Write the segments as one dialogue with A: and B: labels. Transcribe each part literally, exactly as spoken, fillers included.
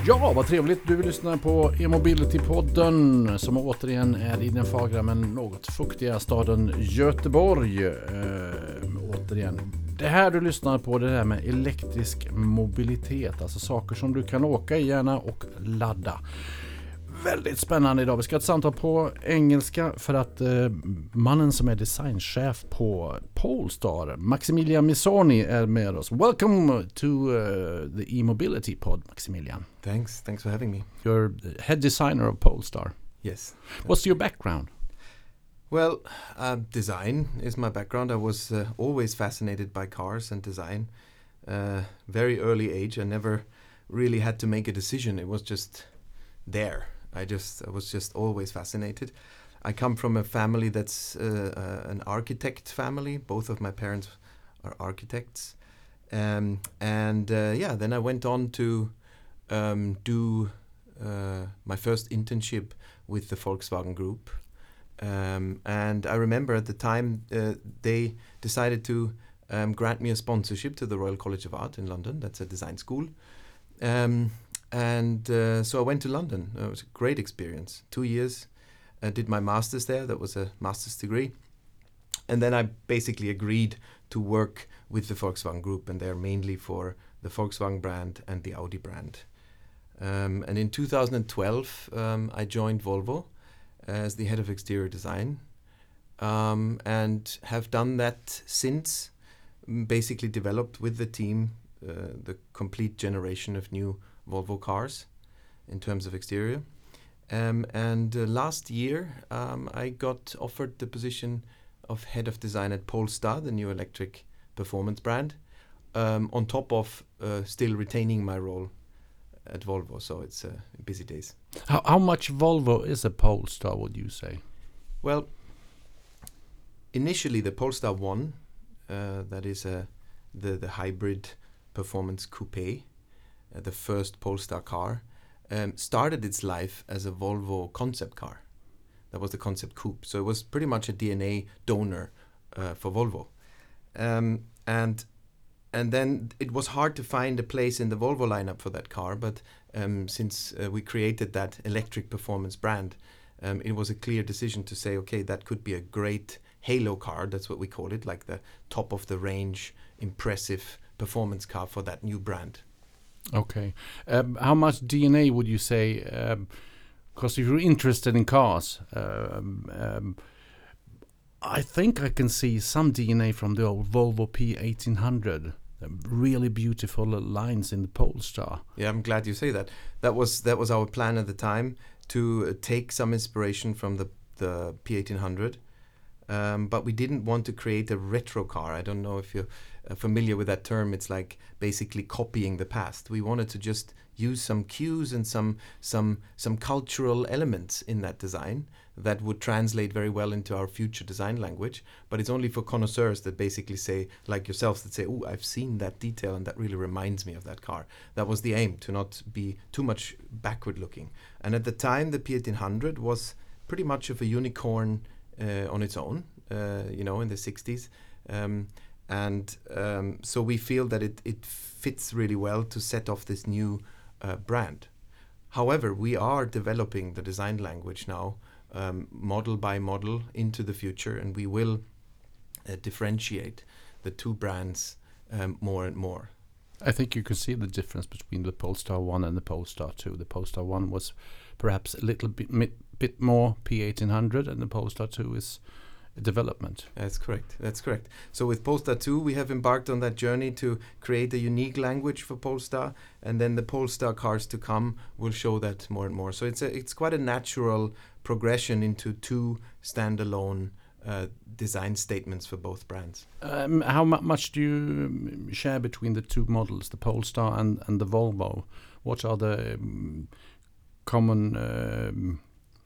A: Ja, vad trevligt. Du lyssnar på e-mobility-podden som återigen är i den fagra men något fuktiga staden Göteborg. Äh, återigen. Det här du lyssnar på, det där med elektrisk mobilitet. Alltså saker som du kan åka i gärna och ladda. Väldigt spännande idag. Vi ska ha ett samtal på engelska för att eh, mannen som är designchef på Polestar, Maximilian Missoni, är med oss. Welcome to uh, the e-mobility pod, Maximilian.
B: Thanks. Thanks for having me.
A: You're head designer of Polestar.
B: Yes.
A: What's your background?
B: Well, uh, design is my background. I was uh, always fascinated by cars and design. Uh, very early age. I never really had to make a decision. It was just there. I just I was just always fascinated. I come from a family that's uh, uh, an architect family. Both of my parents are architects. Um, and uh, yeah, then I went on to um, do uh, my first internship with the Volkswagen Group. Um, and I remember at the time uh, they decided to um, grant me a sponsorship to the Royal College of Art in London. That's a design school. Um, And uh, so I went to London. It was a great experience. Two years. I did my master's there. That was a master's degree. And then I basically agreed to work with the Volkswagen Group, and they're mainly for the Volkswagen brand and the Audi brand. Um, and in two thousand twelve, um, I joined Volvo as the head of exterior design, um, and have done that since. Basically developed with the team uh, the complete generation of new Volvo cars in terms of exterior. Um, and uh, last year um, I got offered the position of head of design at Polestar, the new electric performance brand, um, on top of uh, still retaining my role at Volvo. So it's uh, busy days.
A: How, how much Volvo is a Polestar, would you say?
B: Well, initially the Polestar one, uh, that is a, the, the hybrid performance coupe, Uh, the first Polestar car, um, started its life as a Volvo concept car. That was the concept coupe. So it was pretty much a D N A donor uh, for Volvo. Um, and and then it was hard to find a place in the Volvo lineup for that car, but um, since uh, we created that electric performance brand, um, it was a clear decision to say, okay, that could be a great halo car, that's what we call it, like the top of the range, impressive performance car for that new brand.
A: Okay. Um, how much D N A would you say? Because um, if you're interested in cars, um, um, I think I can see some D N A from the old Volvo P eighteen hundred. Um, really beautiful lines in the Polestar.
B: Yeah, I'm glad you say that. That was that was our plan at the time, to uh, take some inspiration from the the P eighteen hundred. Um, but we didn't want to create a retro car. I don't know if you're uh, familiar with that term. It's like basically copying the past. We wanted to just use some cues and some some some cultural elements in that design that would translate very well into our future design language. But it's only for connoisseurs that basically say, like yourselves, that say, oh, I've seen that detail and that really reminds me of that car. That was the aim, to not be too much backward looking. And at the time, the P eighteen hundred was pretty much of a unicorn Uh, on its own, uh, you know, in the sixties. Um, and um, so we feel that it, it fits really well to set off this new uh, brand. However, we are developing the design language now, um, model by model into the future, and we will uh, differentiate the two brands um, more and more.
A: I think you can see the difference between the Polestar one and the Polestar two. The Polestar one was perhaps a little bit mi- bit more P eighteen hundred, and the Polestar two is a development.
B: That's correct. That's correct. So with Polestar two, we have embarked on that journey to create a unique language for Polestar, and then the Polestar cars to come will show that more and more. So it's a, it's quite a natural progression into two standalone uh, design statements for both brands.
A: Um, how mu- much do you um, share between the two models, the Polestar and, and the Volvo? What are the um, common... Um,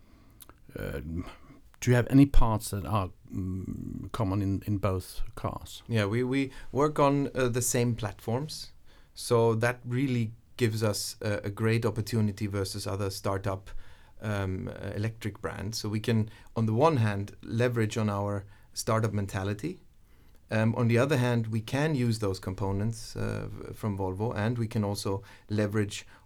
A: uh, do you have any parts that are um, common in, in both cars?
B: Yeah, we, we work on uh, the same platforms. So that really gives us a, a great opportunity versus other startup um, uh, electric brands. So we can, on the one hand, leverage on our startup mentality. Um, on the other hand, we can use those components uh, from Volvo, and we can also leverage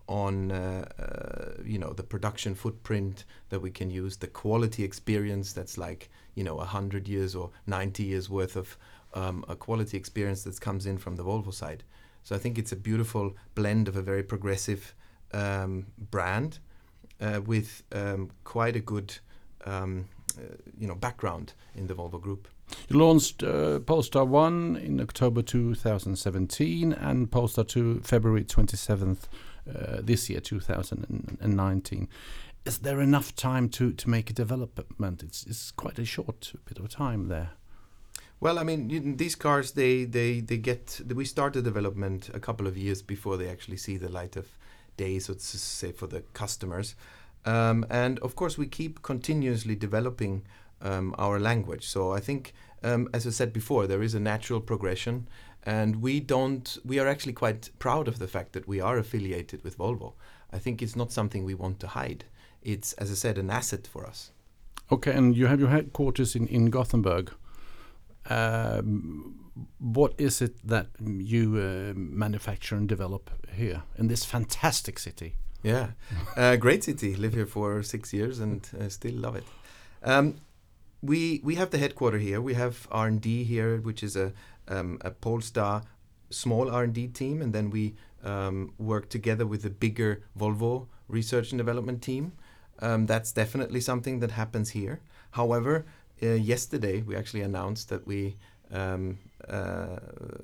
B: on uh, uh, you know the production footprint that we can use, the quality experience that's like you know a hundred years or ninety years worth of um, a quality experience that comes in from the Volvo side. So I think it's a beautiful blend of a very progressive um, brand uh, with um, quite a good um, uh, you know background in the Volvo Group.
A: You launched uh, Polestar one in October two thousand seventeen and Polestar two February twenty-seventh uh, this year, two thousand nineteen. Is there enough time to, to make a development? It's, it's quite a short bit of time there.
B: Well, I mean, you, these cars, they, they, they get... We start the development a couple of years before they actually see the light of day, so to say, for the customers. Um, and, of course, we keep continuously developing um, our language. So I think, um, as I said before, there is a natural progression. And we don't... We are actually quite proud of the fact that we are affiliated with Volvo. I think it's not something we want to hide. It's, as I said, an asset for us.
A: Okay, and you have your headquarters in, in Gothenburg. Um, what is it that you uh, manufacture and develop here in this fantastic city?
B: Yeah, uh, great city. Live here for six years and uh, still love it. Um, we we have the headquarter here. We have R and D here, which is a um, a Polestar small R and D team, and then we um, work together with the bigger Volvo research and development team. Um, that's definitely something that happens here. However, uh, yesterday we actually announced that we um, uh,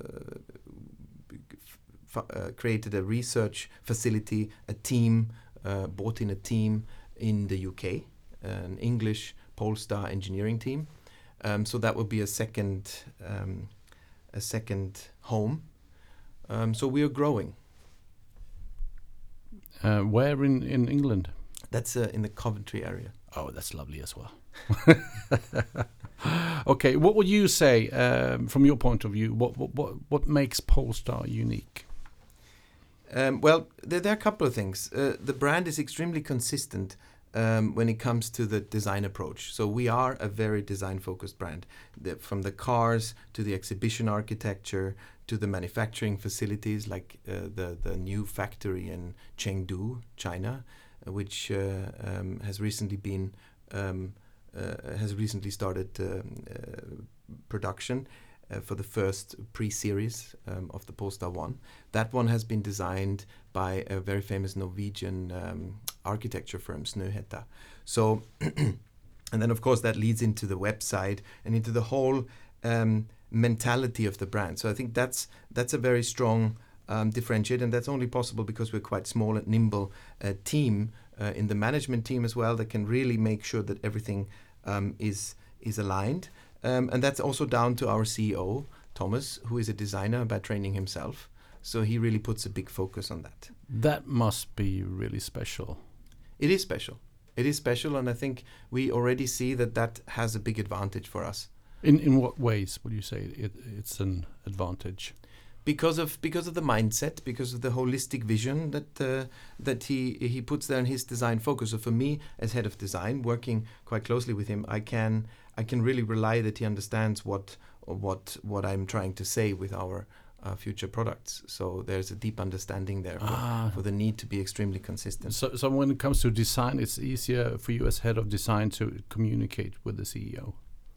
B: f- uh, created a research facility, a team, uh, bought in a team in the U K, an English Polestar engineering team. Um, so that would be a second, um, a second home. Um, so we are growing.
A: Uh, where in, in England?
B: That's uh, in the Coventry area.
A: Oh, that's lovely as well. Okay, what would you say, um, from your point of view, what what what, what makes Polestar unique?
B: Um, well, there, there are a couple of things. Uh, the brand is extremely consistent um, when it comes to the design approach. So we are a very design-focused brand. The, from the cars to the exhibition architecture to the manufacturing facilities, like uh, the the new factory in Chengdu, China, which uh, um, has recently been um, uh, has recently started um, uh, production uh, for the first pre-series um, of the Polestar one. That one has been designed by a very famous Norwegian um, architecture firm, Snøhetta. So, and then of course that leads into the website and into the whole um, mentality of the brand. So I think that's that's a very strong Um, differentiate, and that's only possible because we're quite small and nimble uh, team uh, in the management team as well that can really make sure that everything um, is is aligned. Um, and that's also down to our C E O, Thomas, who is a designer by training himself. So he really puts a big focus on that.
A: That must be really special.
B: It is special. It is special, and I think we already see that that has a big advantage for us.
A: In in what ways would you say it, it's an advantage?
B: Because of because of the mindset, because of the holistic vision that uh, that he he puts there in his design focus. So for me, as head of design, working quite closely with him, I can I can really rely that he understands what what what I'm trying to say with our uh, future products. So there's a deep understanding there for,
A: Ah.
B: for the need to be extremely consistent.
A: So, so when it comes to design, it's easier for you as head of design to communicate with the C E O.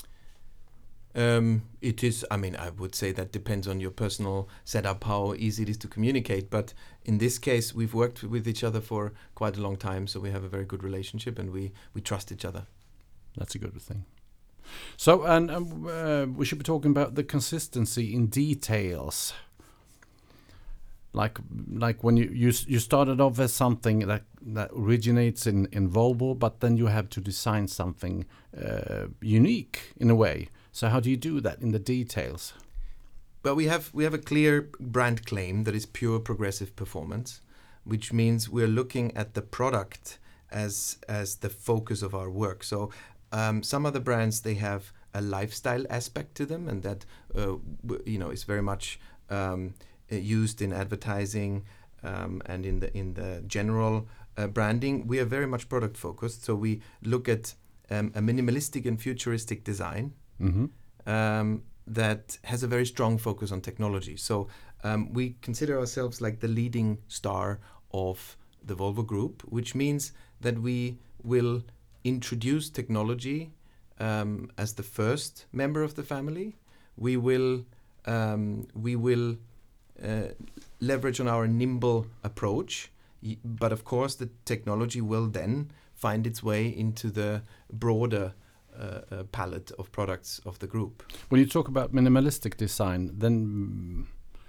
B: Um, it is, I mean, I would say that depends on your personal setup, how easy it is to communicate. But in this case, we've worked with each other for quite a long time, so we have a very good relationship and we, we trust each other.
A: That's a good thing. So, and um, uh, we should be talking about the consistency in details. Like, like when you, you you started off as something that that originates in, in Volvo, but then you have to design something uh, unique in a way. So how do you do that in the details?
B: Well, we have we have a clear brand claim that is pure progressive performance, which means we're looking at the product as as the focus of our work. So um, some other brands, they have a lifestyle aspect to them, and that uh, w- you know is very much um, used in advertising um, and in the in the general uh, branding. We are very much product focused, so we look at um, a minimalistic and futuristic design.
A: Mm-hmm.
B: Um, that has a very strong focus on technology. So um, we consider ourselves like the leading star of the Volvo Group, which means that we will introduce technology um, as the first member of the family. We will um, we will uh, leverage on our nimble approach, y- but of course the technology will then find its way into the broader uh, uh, palette of products of the group.
A: When you talk about minimalistic design, then mm,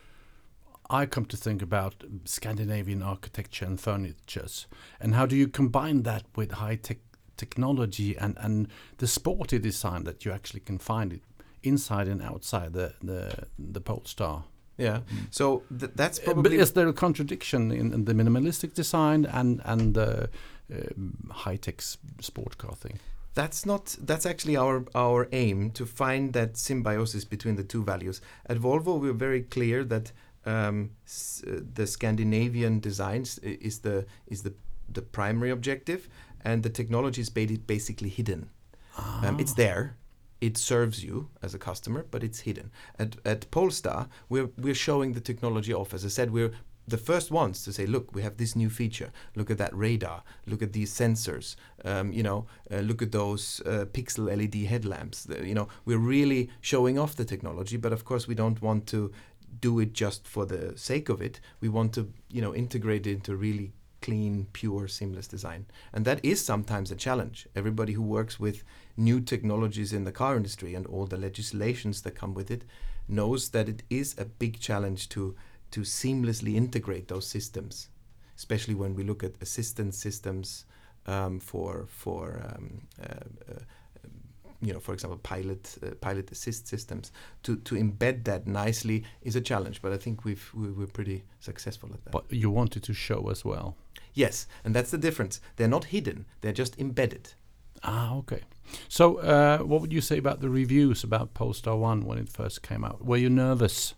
A: I come to think about Scandinavian architecture and furnitures. And how do you combine that with high-tech technology and, and the sporty design that you actually can find it inside and outside the, the, the Polestar?
B: Yeah, so th- that's
A: Uh,
B: probably...
A: But is there a contradiction in, in the minimalistic design and, and the um, high-tech s- sport car thing?
B: That's not. That's actually our our aim, to find that symbiosis between the two values. At Volvo, we're very clear that um, s- uh, the Scandinavian designs i- is the is the the primary objective, and the technology is ba- basically hidden. Um, it's there. It serves you as a customer, but it's hidden. At at Polestar, we're we're showing the technology off. As I said, we're the first ones to say, look, we have this new feature. Look at that radar. Look at these sensors. Um, you know, uh, look at those uh, pixel L E D headlamps. The, you know, we're really showing off the technology. But of course, we don't want to do it just for the sake of it. We want to, you know, integrate it into really clean, pure, seamless design. And that is sometimes a challenge. Everybody who works with new technologies in the car industry and all the legislations that come with it knows that it is a big challenge to to seamlessly integrate those systems, especially when we look at assistance systems um, for for um, uh, uh, you know, for example, pilot uh, pilot assist systems. To to embed that nicely is a challenge, but I think we've we, we're pretty successful at that.
A: But you wanted to show as well.
B: Yes, and that's the difference. They're not hidden; they're just embedded.
A: Ah, okay. So, uh, what would you say about the reviews about Polestar one when it first came out? Were you nervous?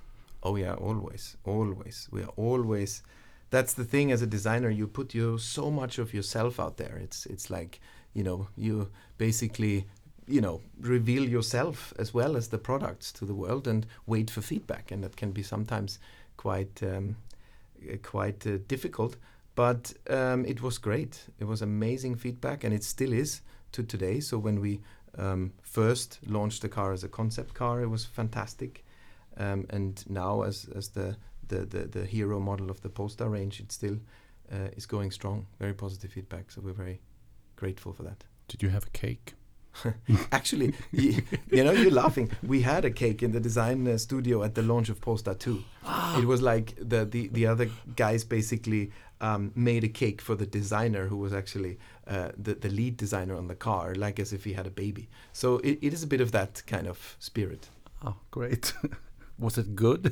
B: Oh yeah, always, always. We are always. That's the thing. As a designer, you put you so much of yourself out there. It's it's like, you know, you basically, you know, reveal yourself as well as the products to the world and wait for feedback, and that can be sometimes quite um, uh, quite uh, difficult. But um, it was great. It was amazing feedback, and it still is to today. So when we um, first launched the car as a concept car, it was fantastic. Um, and now as as the, the, the, the hero model of the Polestar range, it still uh, is going strong. Very positive feedback. So we're very grateful for that.
A: Did you have a cake?
B: Actually, you, you know, you're laughing. We had a cake in the design uh, studio at the launch of Polestar two. It was like the, the, the other guys basically um, made a cake for the designer, who was actually uh, the, the lead designer on the car, like as if he had a baby. So it, it is a bit of that kind of spirit.
A: Oh, great. Was it good?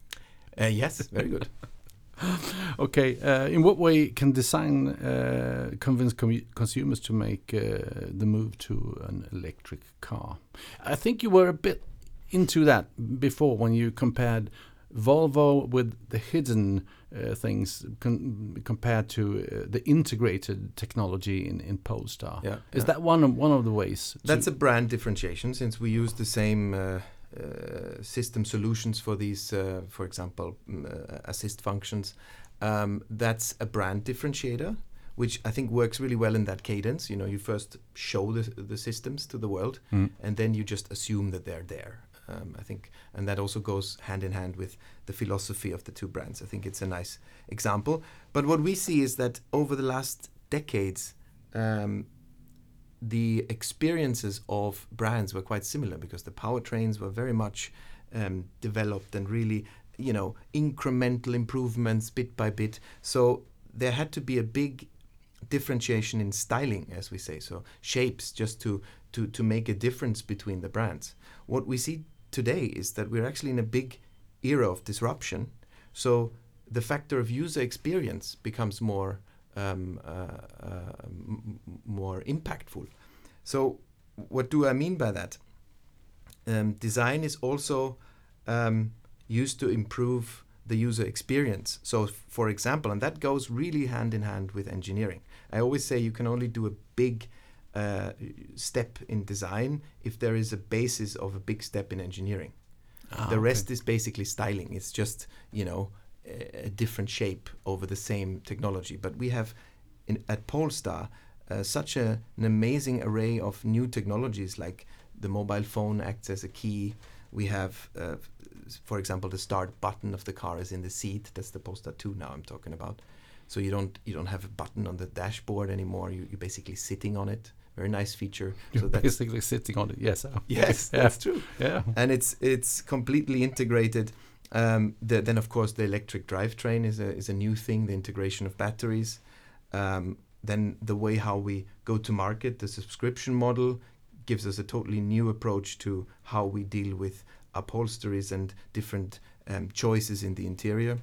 B: Uh, yes, very good.
A: Okay. Uh, in what way can design uh, convince com- consumers to make uh, the move to an electric car? I think you were a bit into that before when you compared Volvo with the hidden uh, things con- compared to uh, the integrated technology in, in Polestar.
B: Yeah,
A: Is
B: yeah.
A: that one of, one of the ways?
B: That's
A: to
B: a brand differentiation, since we use the same uh, uh, system solutions for these, uh, for example, um, uh, assist functions. Um, that's a brand differentiator, which I think works really well in that cadence. You know, you first show the, the systems to the world,
A: Mm.
B: and then you just assume that they're there. Um, I think, and that also goes hand in hand with the philosophy of the two brands. I think it's a nice example. But what we see is that over the last decades, um, the experiences of brands were quite similar, because the powertrains were very much um, developed and really, you know, incremental improvements bit by bit. So there had to be a big differentiation in styling, as we say, so shapes, just to to to make a difference between the brands. What we see today is that we're actually in a big era of disruption. So the factor of user experience becomes more um, uh, uh, m- more impactful. So what do I mean by that? Um, design is also um, used to improve the user experience. So f- for example, and that goes really hand in hand with engineering. I always say you can only do a big uh, step in design if there is a basis of a big step in engineering.
A: Ah,
B: the
A: okay.
B: rest is basically styling. It's just, you know, a different shape over the same technology. But we have in, at Polestar uh, such a, an amazing array of new technologies, like the mobile phone acts as a key. We have, uh, for example, the start button of the car is in the seat. That's the Polestar two now I'm talking about. So you don't you don't have a button on the dashboard anymore. You, you're basically sitting on it. Very nice feature.
A: You're
B: so that's
A: basically sitting on it. Yes.
B: yes,
A: yeah.
B: that's true.
A: Yeah.
B: And it's it's completely integrated. Um, the, then of course the electric drivetrain is a is a new thing. The integration of batteries. Um, then the way how we go to market, the subscription model, gives us a totally new approach to how we deal with upholsteries and different um, choices in the interior.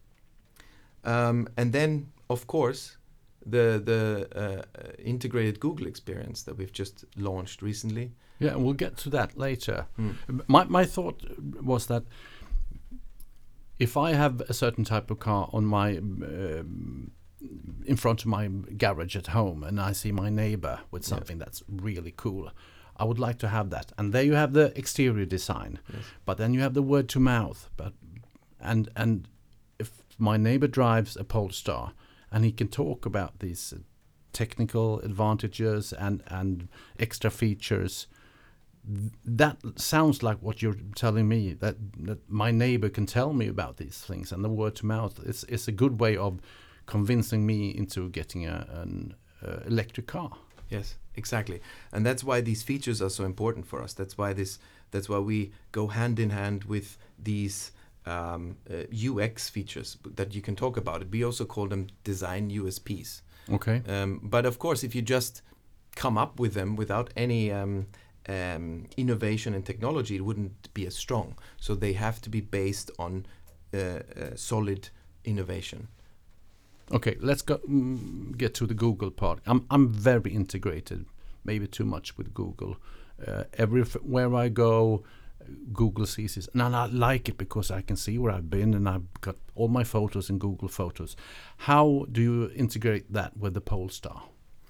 B: Um, and then, of course, the the uh, integrated Google experience that we've just launched recently.
A: Yeah, and we'll get to that later.
B: Mm.
A: My my thought was that if I have a certain type of car on my um, in front of my garage at home, and I see my neighbor with something yeah. that's really cool, I would like to have that. And there you have the exterior design, yes. but then you have the word to mouth. But and and if my neighbor drives a Polestar and he can talk about these technical advantages and and extra features, th- that sounds like what you're telling me, that that my neighbor can tell me about these things, and the word to mouth is is a good way of convincing me into getting a, an uh, electric car.
B: Yes, exactly, and that's why these features are so important for us. That's why this. That's why we go hand in hand with these um, uh, U X features that you can talk about. We also call them design U S Ps.
A: Okay.
B: Um, but of course, if you just come up with them without any um, um, innovation and technology, it wouldn't be as strong. So they have to be based on uh, uh, solid innovation.
A: Okay, let's go mm, get to the Google part. I'm I'm very integrated, maybe too much with Google. Uh, everywhere I go, Google sees this, and I like it because I can see where I've been, and I've got all my photos in Google Photos. How do you integrate that with the Polestar?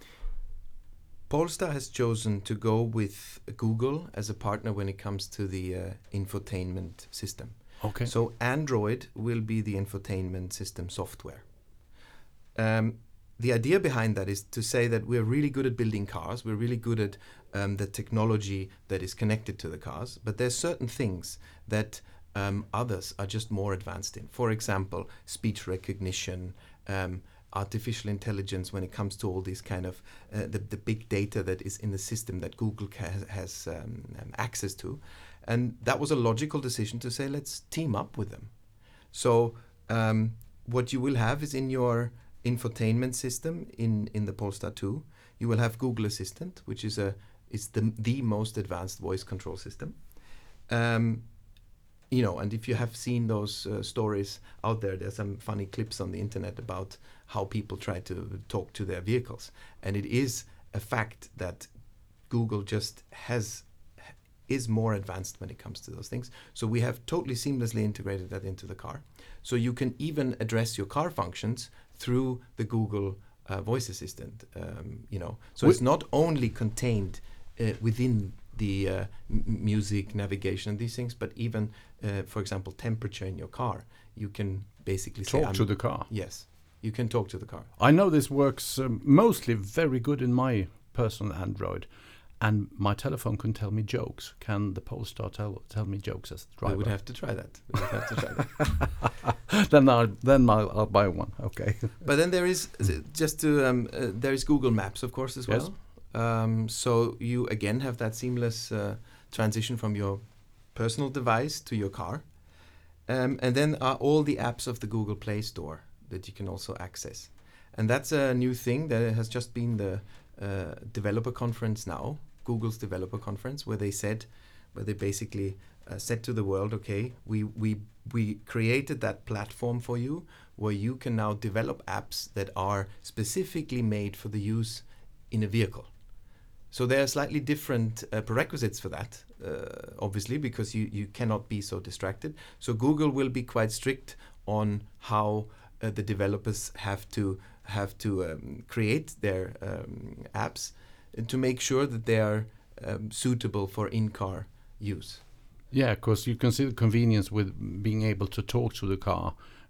B: Polestar has chosen to go with Google as a partner when it comes to the uh, infotainment system.
A: Okay.
B: So Android will be the infotainment system software. Um, the idea behind that is to say that we're really good at building cars. We're really good at um, the technology that is connected to the cars. But there's certain things that um, others are just more advanced in. For example, speech recognition, um, artificial intelligence when it comes to all these kind of uh, the, the big data that is in the system that Google ca- has um, um, access to. And that was a logical decision to say, let's team up with them. So um, what you will have is in your infotainment system in, in the Polestar two, you will have Google Assistant, which is a is the the most advanced voice control system. Um, you know, and if you have seen those uh, stories out there, there's some funny clips on the internet about how people try to talk to their vehicles, and it is a fact that Google just has is more advanced when it comes to those things. So we have totally seamlessly integrated that into the car. So you can even address your car functions through the Google uh, voice assistant, um, you know. So we it's not only contained uh, within the uh, m- music, navigation, and these things, but even, uh, for example, temperature in your car. You can basically
A: talk
B: say,
A: to the car.
B: Yes, you can talk to the car.
A: I know this works um, mostly very good in my personal Android. And my telephone can tell me jokes. Can the Polestar tell tell me jokes as the driver?
B: We would have to try that. We would have to try that.
A: then I'll then I'll, I'll buy one. Okay.
B: But then there is just to um, uh, there is Google Maps, of course, as well.
A: Yes.
B: Um, so you again have that seamless uh, transition from your personal device to your car, um, and then are all the apps of the Google Play Store that you can also access. And that's a new thing that has just been the uh, developer conference now. Google's developer conference, where they said, where they basically uh, said to the world, okay, we we we created that platform for you, where you can now develop apps that are specifically made for the use in a vehicle. So there are slightly different uh, prerequisites for that, uh, obviously, because you you cannot be so distracted. So Google will be quite strict on how uh, the developers have to have to um, create their um, apps to make sure that they are um, suitable for in-car use.
A: Yeah, because you can see the convenience with being able to talk to the car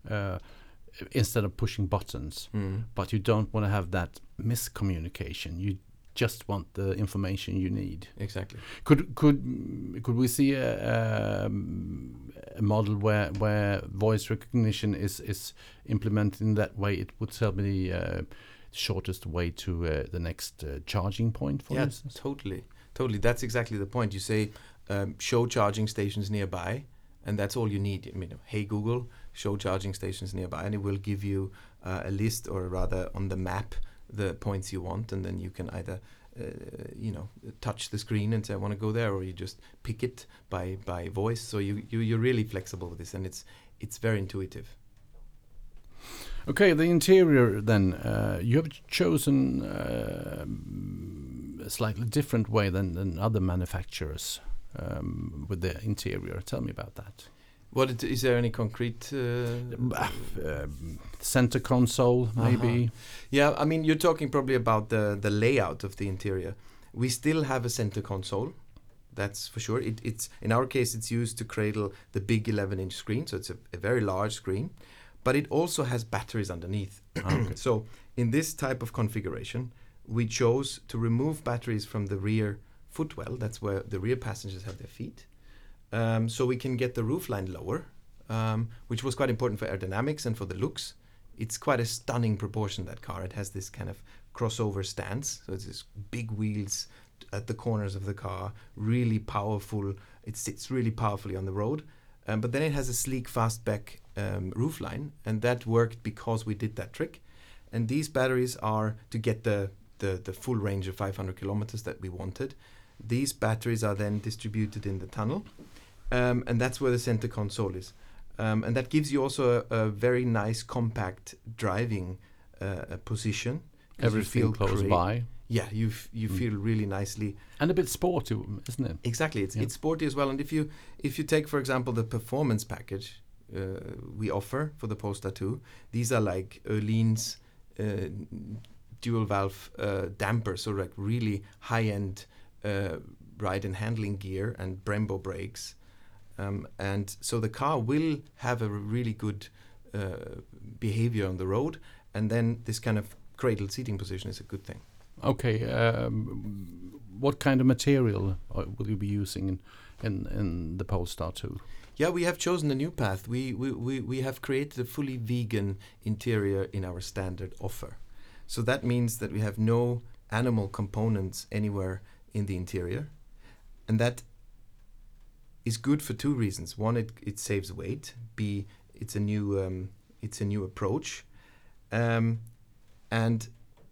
A: uh, instead of pushing buttons.
B: Mm.
A: But you don't want to have that miscommunication. You just want the information you need.
B: Exactly.
A: Could could could we see a, um, a model where where voice recognition is is implemented in that way? It would tell me the uh, shortest way to uh, the next uh, charging point, for
B: yeah,
A: instance.
B: totally, totally. That's exactly the point. You say, um, show charging stations nearby, and that's all you need. I mean, hey Google, show charging stations nearby, and it will give you uh, a list, or rather on the map, the points you want, and then you can either uh, you know touch the screen and say I want to go there, or you just pick it by by voice. So you, you you're really flexible with this, and it's it's very intuitive.
A: Okay, the interior then. Uh, you have chosen uh, a slightly different way than, than other manufacturers um, with the interior. Tell me about that.
B: What it, is there any concrete uh,
A: uh, center console, maybe?
B: Uh-huh. Yeah, I mean, you're talking probably about the the layout of the interior. We still have a center console, that's for sure. It, it's in our case, it's used to cradle the big eleven inch screen, so it's a, a very large screen. But it also has batteries underneath.
A: Okay.
B: So in this type of configuration, we chose to remove batteries from the rear footwell. That's where the rear passengers have their feet. Um, so we can get the roofline lower, um, which was quite important for aerodynamics and for the looks. It's quite a stunning proportion, that car. It has this kind of crossover stance. So it's this big wheels at the corners of the car, really powerful. It sits really powerfully on the road. Um, but then it has a sleek fastback um, roofline, and that worked because we did that trick. And these batteries are to get the, the, the full range of five hundred kilometers that we wanted. These batteries are then distributed in the tunnel, um, and that's where the center console is. Um, and that gives you also a, a very nice compact driving uh, position.
A: Everything close by.
B: Yeah, you f- you
A: Mm.
B: feel really nicely.
A: And a bit sporty, isn't it?
B: Exactly, it's
A: Yeah.
B: it's sporty as well. And if you if you take, for example, the performance package uh, we offer for the Polestar two, these are like Öhlins uh, dual valve uh, dampers, so like really high end uh, ride and handling gear and Brembo brakes, um, and so the car will have a really good uh, behavior on the road. And then this kind of cradled seating position is a good thing.
A: Okay, um, what kind of material uh, will you be using in, in, in the Polestar two?
B: Yeah, we have chosen a new path. We, we, we, we have created a fully vegan interior in our standard offer. So that means that we have no animal components anywhere in the interior. And that is good for two reasons. One, it, it saves weight. B, it's a new um, it's a new approach. Um, and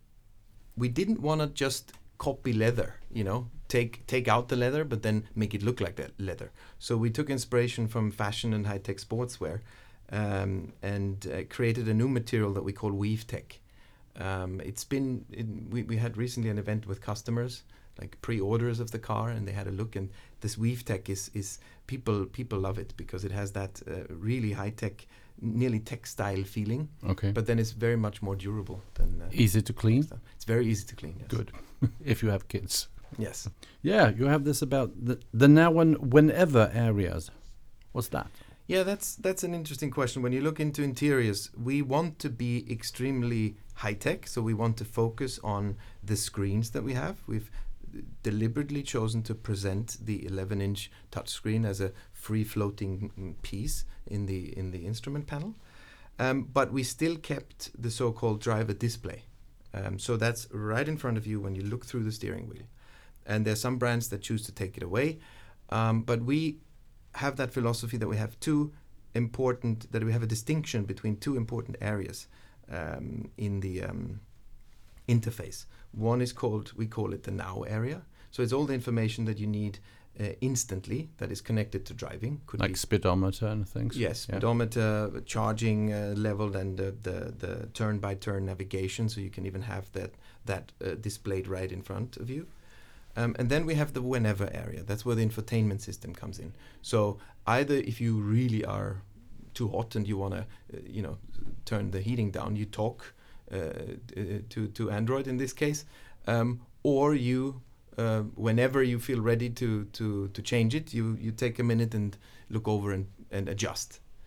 B: we didn't want to just copy leather, you know, take take out the leather, but then make it look like that leather. So we took inspiration from fashion and high-tech sportswear, um, and uh, created a new material that we call Weave Tech. Um, it's been, in, we, we had recently an event with customers, like pre-orders of the car, and they had a look, and this Weave Tech is, is people, people love it because it has that uh, really high-tech, nearly textile feeling.
A: Okay.
B: But then it's very much more durable than... Uh,
A: Easy to clean?
B: stuff. It's very easy to clean, yes.
A: Good. If you have kids.
B: Yes.
A: Yeah, you have this about the, the now and whenever areas. What's that?
B: Yeah, that's that's an interesting question. When you look into interiors, we want to be extremely high-tech, so we want to focus on the screens that we have. We've deliberately chosen to present the eleven inch touchscreen as a free-floating piece in the in the instrument panel, um, but we still kept the so-called driver display. Um, so that's right in front of you when you look through the steering wheel. And there's some brands that choose to take it away, um, but we have that philosophy that we have two important, that we have a distinction between two important areas um, in the um, interface. One is called, we call it the now area. So it's all the information that you need uh, instantly that is connected to driving. Could
A: Like
B: be
A: speedometer and things?
B: Yes,
A: Yeah.
B: speedometer, charging uh, level, and the, the, the turn-by-turn navigation, so you can even have that, that uh, displayed right in front of you. Um, and then we have the whenever area. That's where the infotainment system comes in. So either if you really are too hot and you want to, uh, you know, turn the heating down, you talk uh, uh, to, to Android in this case, um, or you... Uh, whenever you feel ready to, to, to change it, you, you take a minute and look over and, and adjust.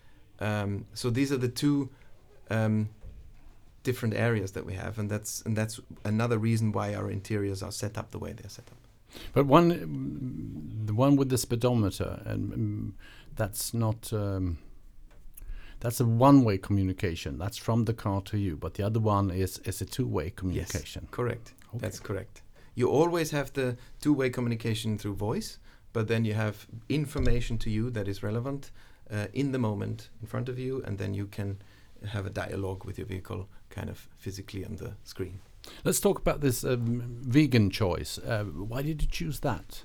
B: Um, so these are the two um, different areas that we have, and that's and that's another reason why our interiors are set up the way they're set up.
A: But one, mm, the one with the speedometer, and mm, that's not. Um, that's a one-way communication. That's from the car to you. But the other one is is a two-way communication.
B: Yes, correct.
A: Okay.
B: That's correct. You always have the two-way communication through voice, but then you have information to you that is relevant uh, in the moment in front of you, and then you can have a dialogue with your vehicle kind of physically on the screen.
A: Let's talk about this um, vegan choice. Uh, why did you choose that?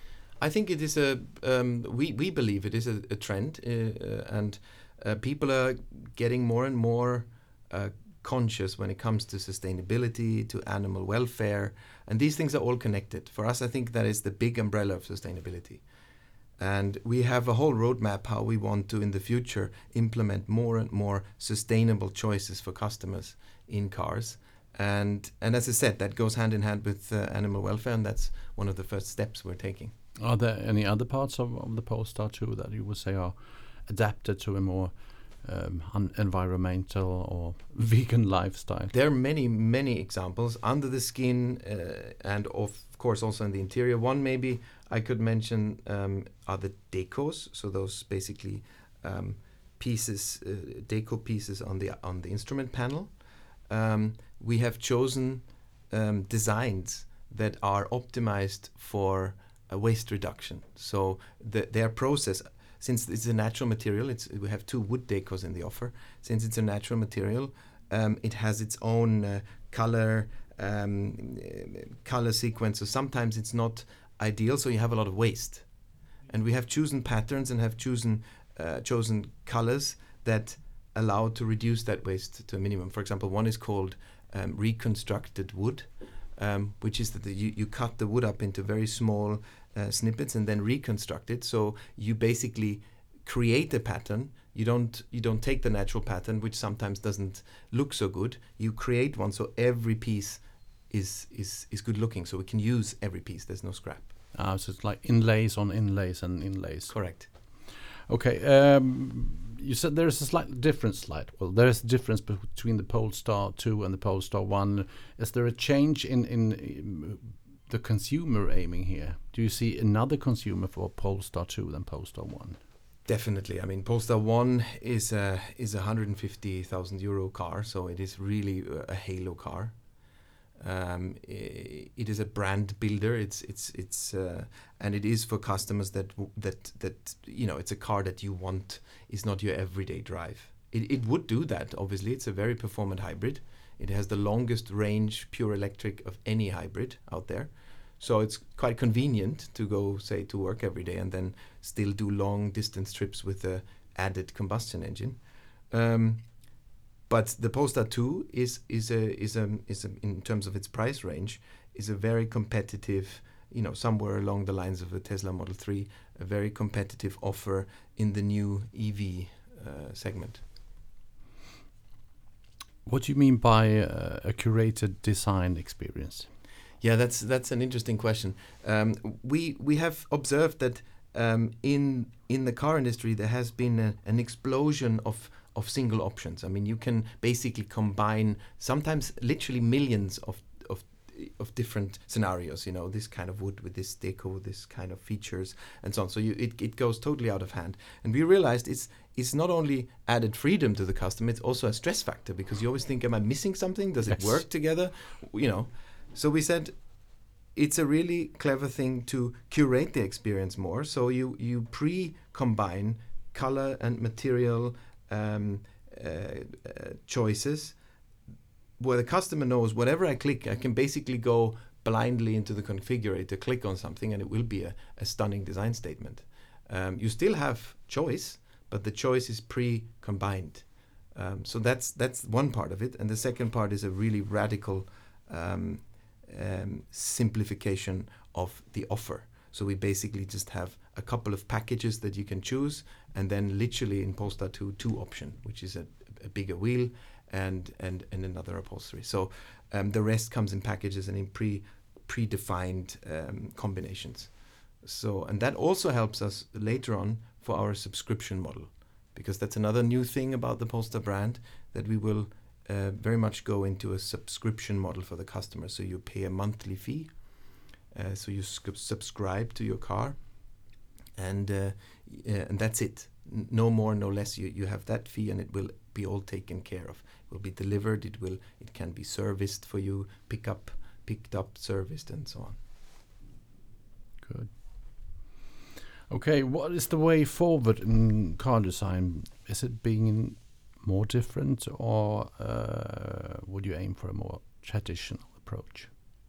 B: I think it is a, um, we, we believe it is a, a trend, uh, uh, and uh, people are getting more and more uh, conscious when it comes to sustainability, to animal welfare, and these things are all connected. For us, I think that is the big umbrella of sustainability. And we have a whole roadmap how we want to, in the future, implement more and more sustainable choices for customers in cars. And and as I said, that goes hand in hand with uh, animal welfare, and that's one of the first steps we're taking.
A: Are there any other parts of, of the Polestar two that you would say are adapted to a more um, un- environmental or vegan lifestyle?
B: There are many, many examples under the skin, uh, and of course also in the interior. One maybe I could mention um, are the decos, so those basically um, pieces, uh, deco pieces on the on the instrument panel. Um, we have chosen um, designs that are optimized for a waste reduction. So the, their process, since it's a natural material, it's we have two wood decos in the offer. Since it's a natural material, um, it has its own uh, color um, color sequence. So sometimes it's not ideal, so you have a lot of waste. And we have chosen patterns and have chosen uh, chosen colors that allow to reduce that waste to a minimum. For example, one is called um, reconstructed wood, um, which is that the, you, you cut the wood up into very small uh, snippets and then reconstruct it. So you basically create a pattern. You don't you don't take the natural pattern, which sometimes doesn't look so good. You create one, so every piece is is is good looking. So we can use every piece. There's no scrap.
A: Ah, so it's like inlays on inlays and inlays.
B: Correct.
A: Okay. Um, you said there's a slight difference. Slight. Well, there's a difference between the Polestar two and the Polestar one. Is there a change in in the consumer aiming here? Do you see another consumer for Polestar two than Polestar one?
B: Definitely. I mean, Polestar one is a is a one hundred fifty thousand euro car, so it is really a halo car. Um, it is a brand builder. It's it's it's uh, and it is for customers that w- that that you know it's a car that you want. Is not your everyday drive. It it would do that. Obviously, it's a very performant hybrid. It has the longest range pure electric of any hybrid out there. So it's quite convenient to go, say, to work every day and then still do long distance trips with the added combustion engine. Um, but the Polestar two is is a is a is a, in terms of its price range, is a very competitive, you know, somewhere along the lines of a Tesla Model three, a very competitive offer in the new E V uh, segment.
A: What do you mean by uh, a curated design experience?
B: Yeah, that's that's an interesting question. Um, we we have observed that um, in in the car industry there has been a, an explosion of of single options. I mean, you can basically combine sometimes literally millions of of of different scenarios. You know, this kind of wood with this deco, this kind of features, and so on. So you, it it goes totally out of hand. And we realized it's it's not only added freedom to the customer, it's also a stress factor, because you always think, am I missing something? Does it
A: Yes.
B: work together? You know. So we said it's a really clever thing to curate the experience more. So you, you pre-combine color and material um, uh, uh, choices where the customer knows whatever I click, I can basically go blindly into the configurator, click on something, and it will be a, a stunning design statement. Um, you still have choice, but the choice is pre-combined. Um, so that's that's one part of it. And the second part is a really radical um, Um, simplification of the offer. So we basically just have a couple of packages that you can choose, and then literally in Polestar two, two option, which is a, a bigger wheel and and and another upholstery. So um, the rest comes in packages and in pre predefined um, combinations. So and that also helps us later on for our subscription model. because that's another new thing about the Polestar brand, that we will uh, very much go into a subscription model for the customer. So you pay a monthly fee, uh, so you sc- subscribe to your car, and uh, uh, and that's it. N- no more, no less. You you have that fee, and it will be all taken care of. It will be delivered. It will. It can be serviced for you, pick up, picked up, serviced, and so on.
A: Good. Okay, what is the way forward in car design? Is it being more different, or uh, would you aim for a more traditional approach?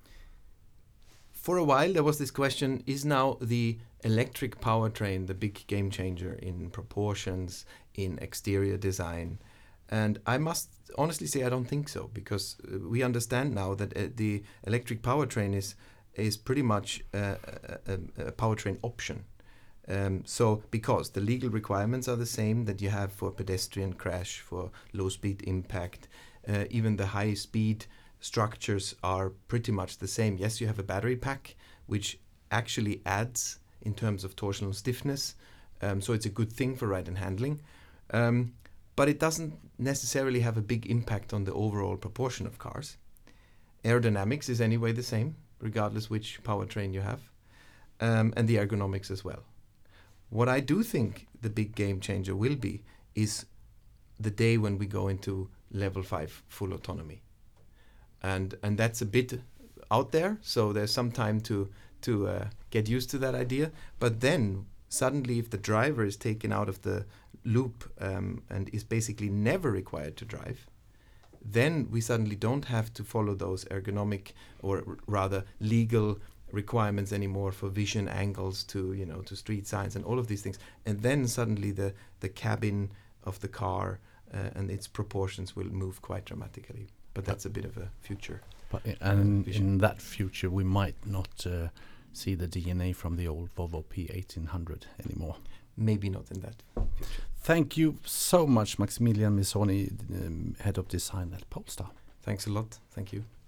B: For a while, there was this question, is now the electric powertrain the big game changer in proportions, in exterior design? And I must honestly say I don't think so, because uh, we understand now that uh, the electric powertrain is is pretty much uh, a, a, a powertrain option. Um, so because the legal requirements are the same that you have for pedestrian crash, for low speed impact, uh, even the high speed structures are pretty much the same. Yes, you have a battery pack, which actually adds in terms of torsional stiffness, um, so it's a good thing for ride and handling, um, but it doesn't necessarily have a big impact on the overall proportion of cars. Aerodynamics is anyway the same, regardless which powertrain you have, um, and the ergonomics as well. What I do think the big game changer will be is the day when we go into level five full autonomy. And and that's a bit out there, so there's some time to to uh, get used to that idea. But then suddenly, if the driver is taken out of the loop um, and is basically never required to drive, then we suddenly don't have to follow those ergonomic or r- rather legal requirements anymore for vision angles to you know to street signs and all of these things. And then suddenly the the cabin of the car uh, and its proportions will move quite dramatically. But that's a bit of a future.
A: But in, and in, in that future, we might not uh, see the D N A from the old Volvo P eighteen hundred anymore.
B: Maybe not in that future.
A: Thank you so much, Maximilian Missoni, um, Head of Design at Polestar.
B: Thanks a lot. Thank you.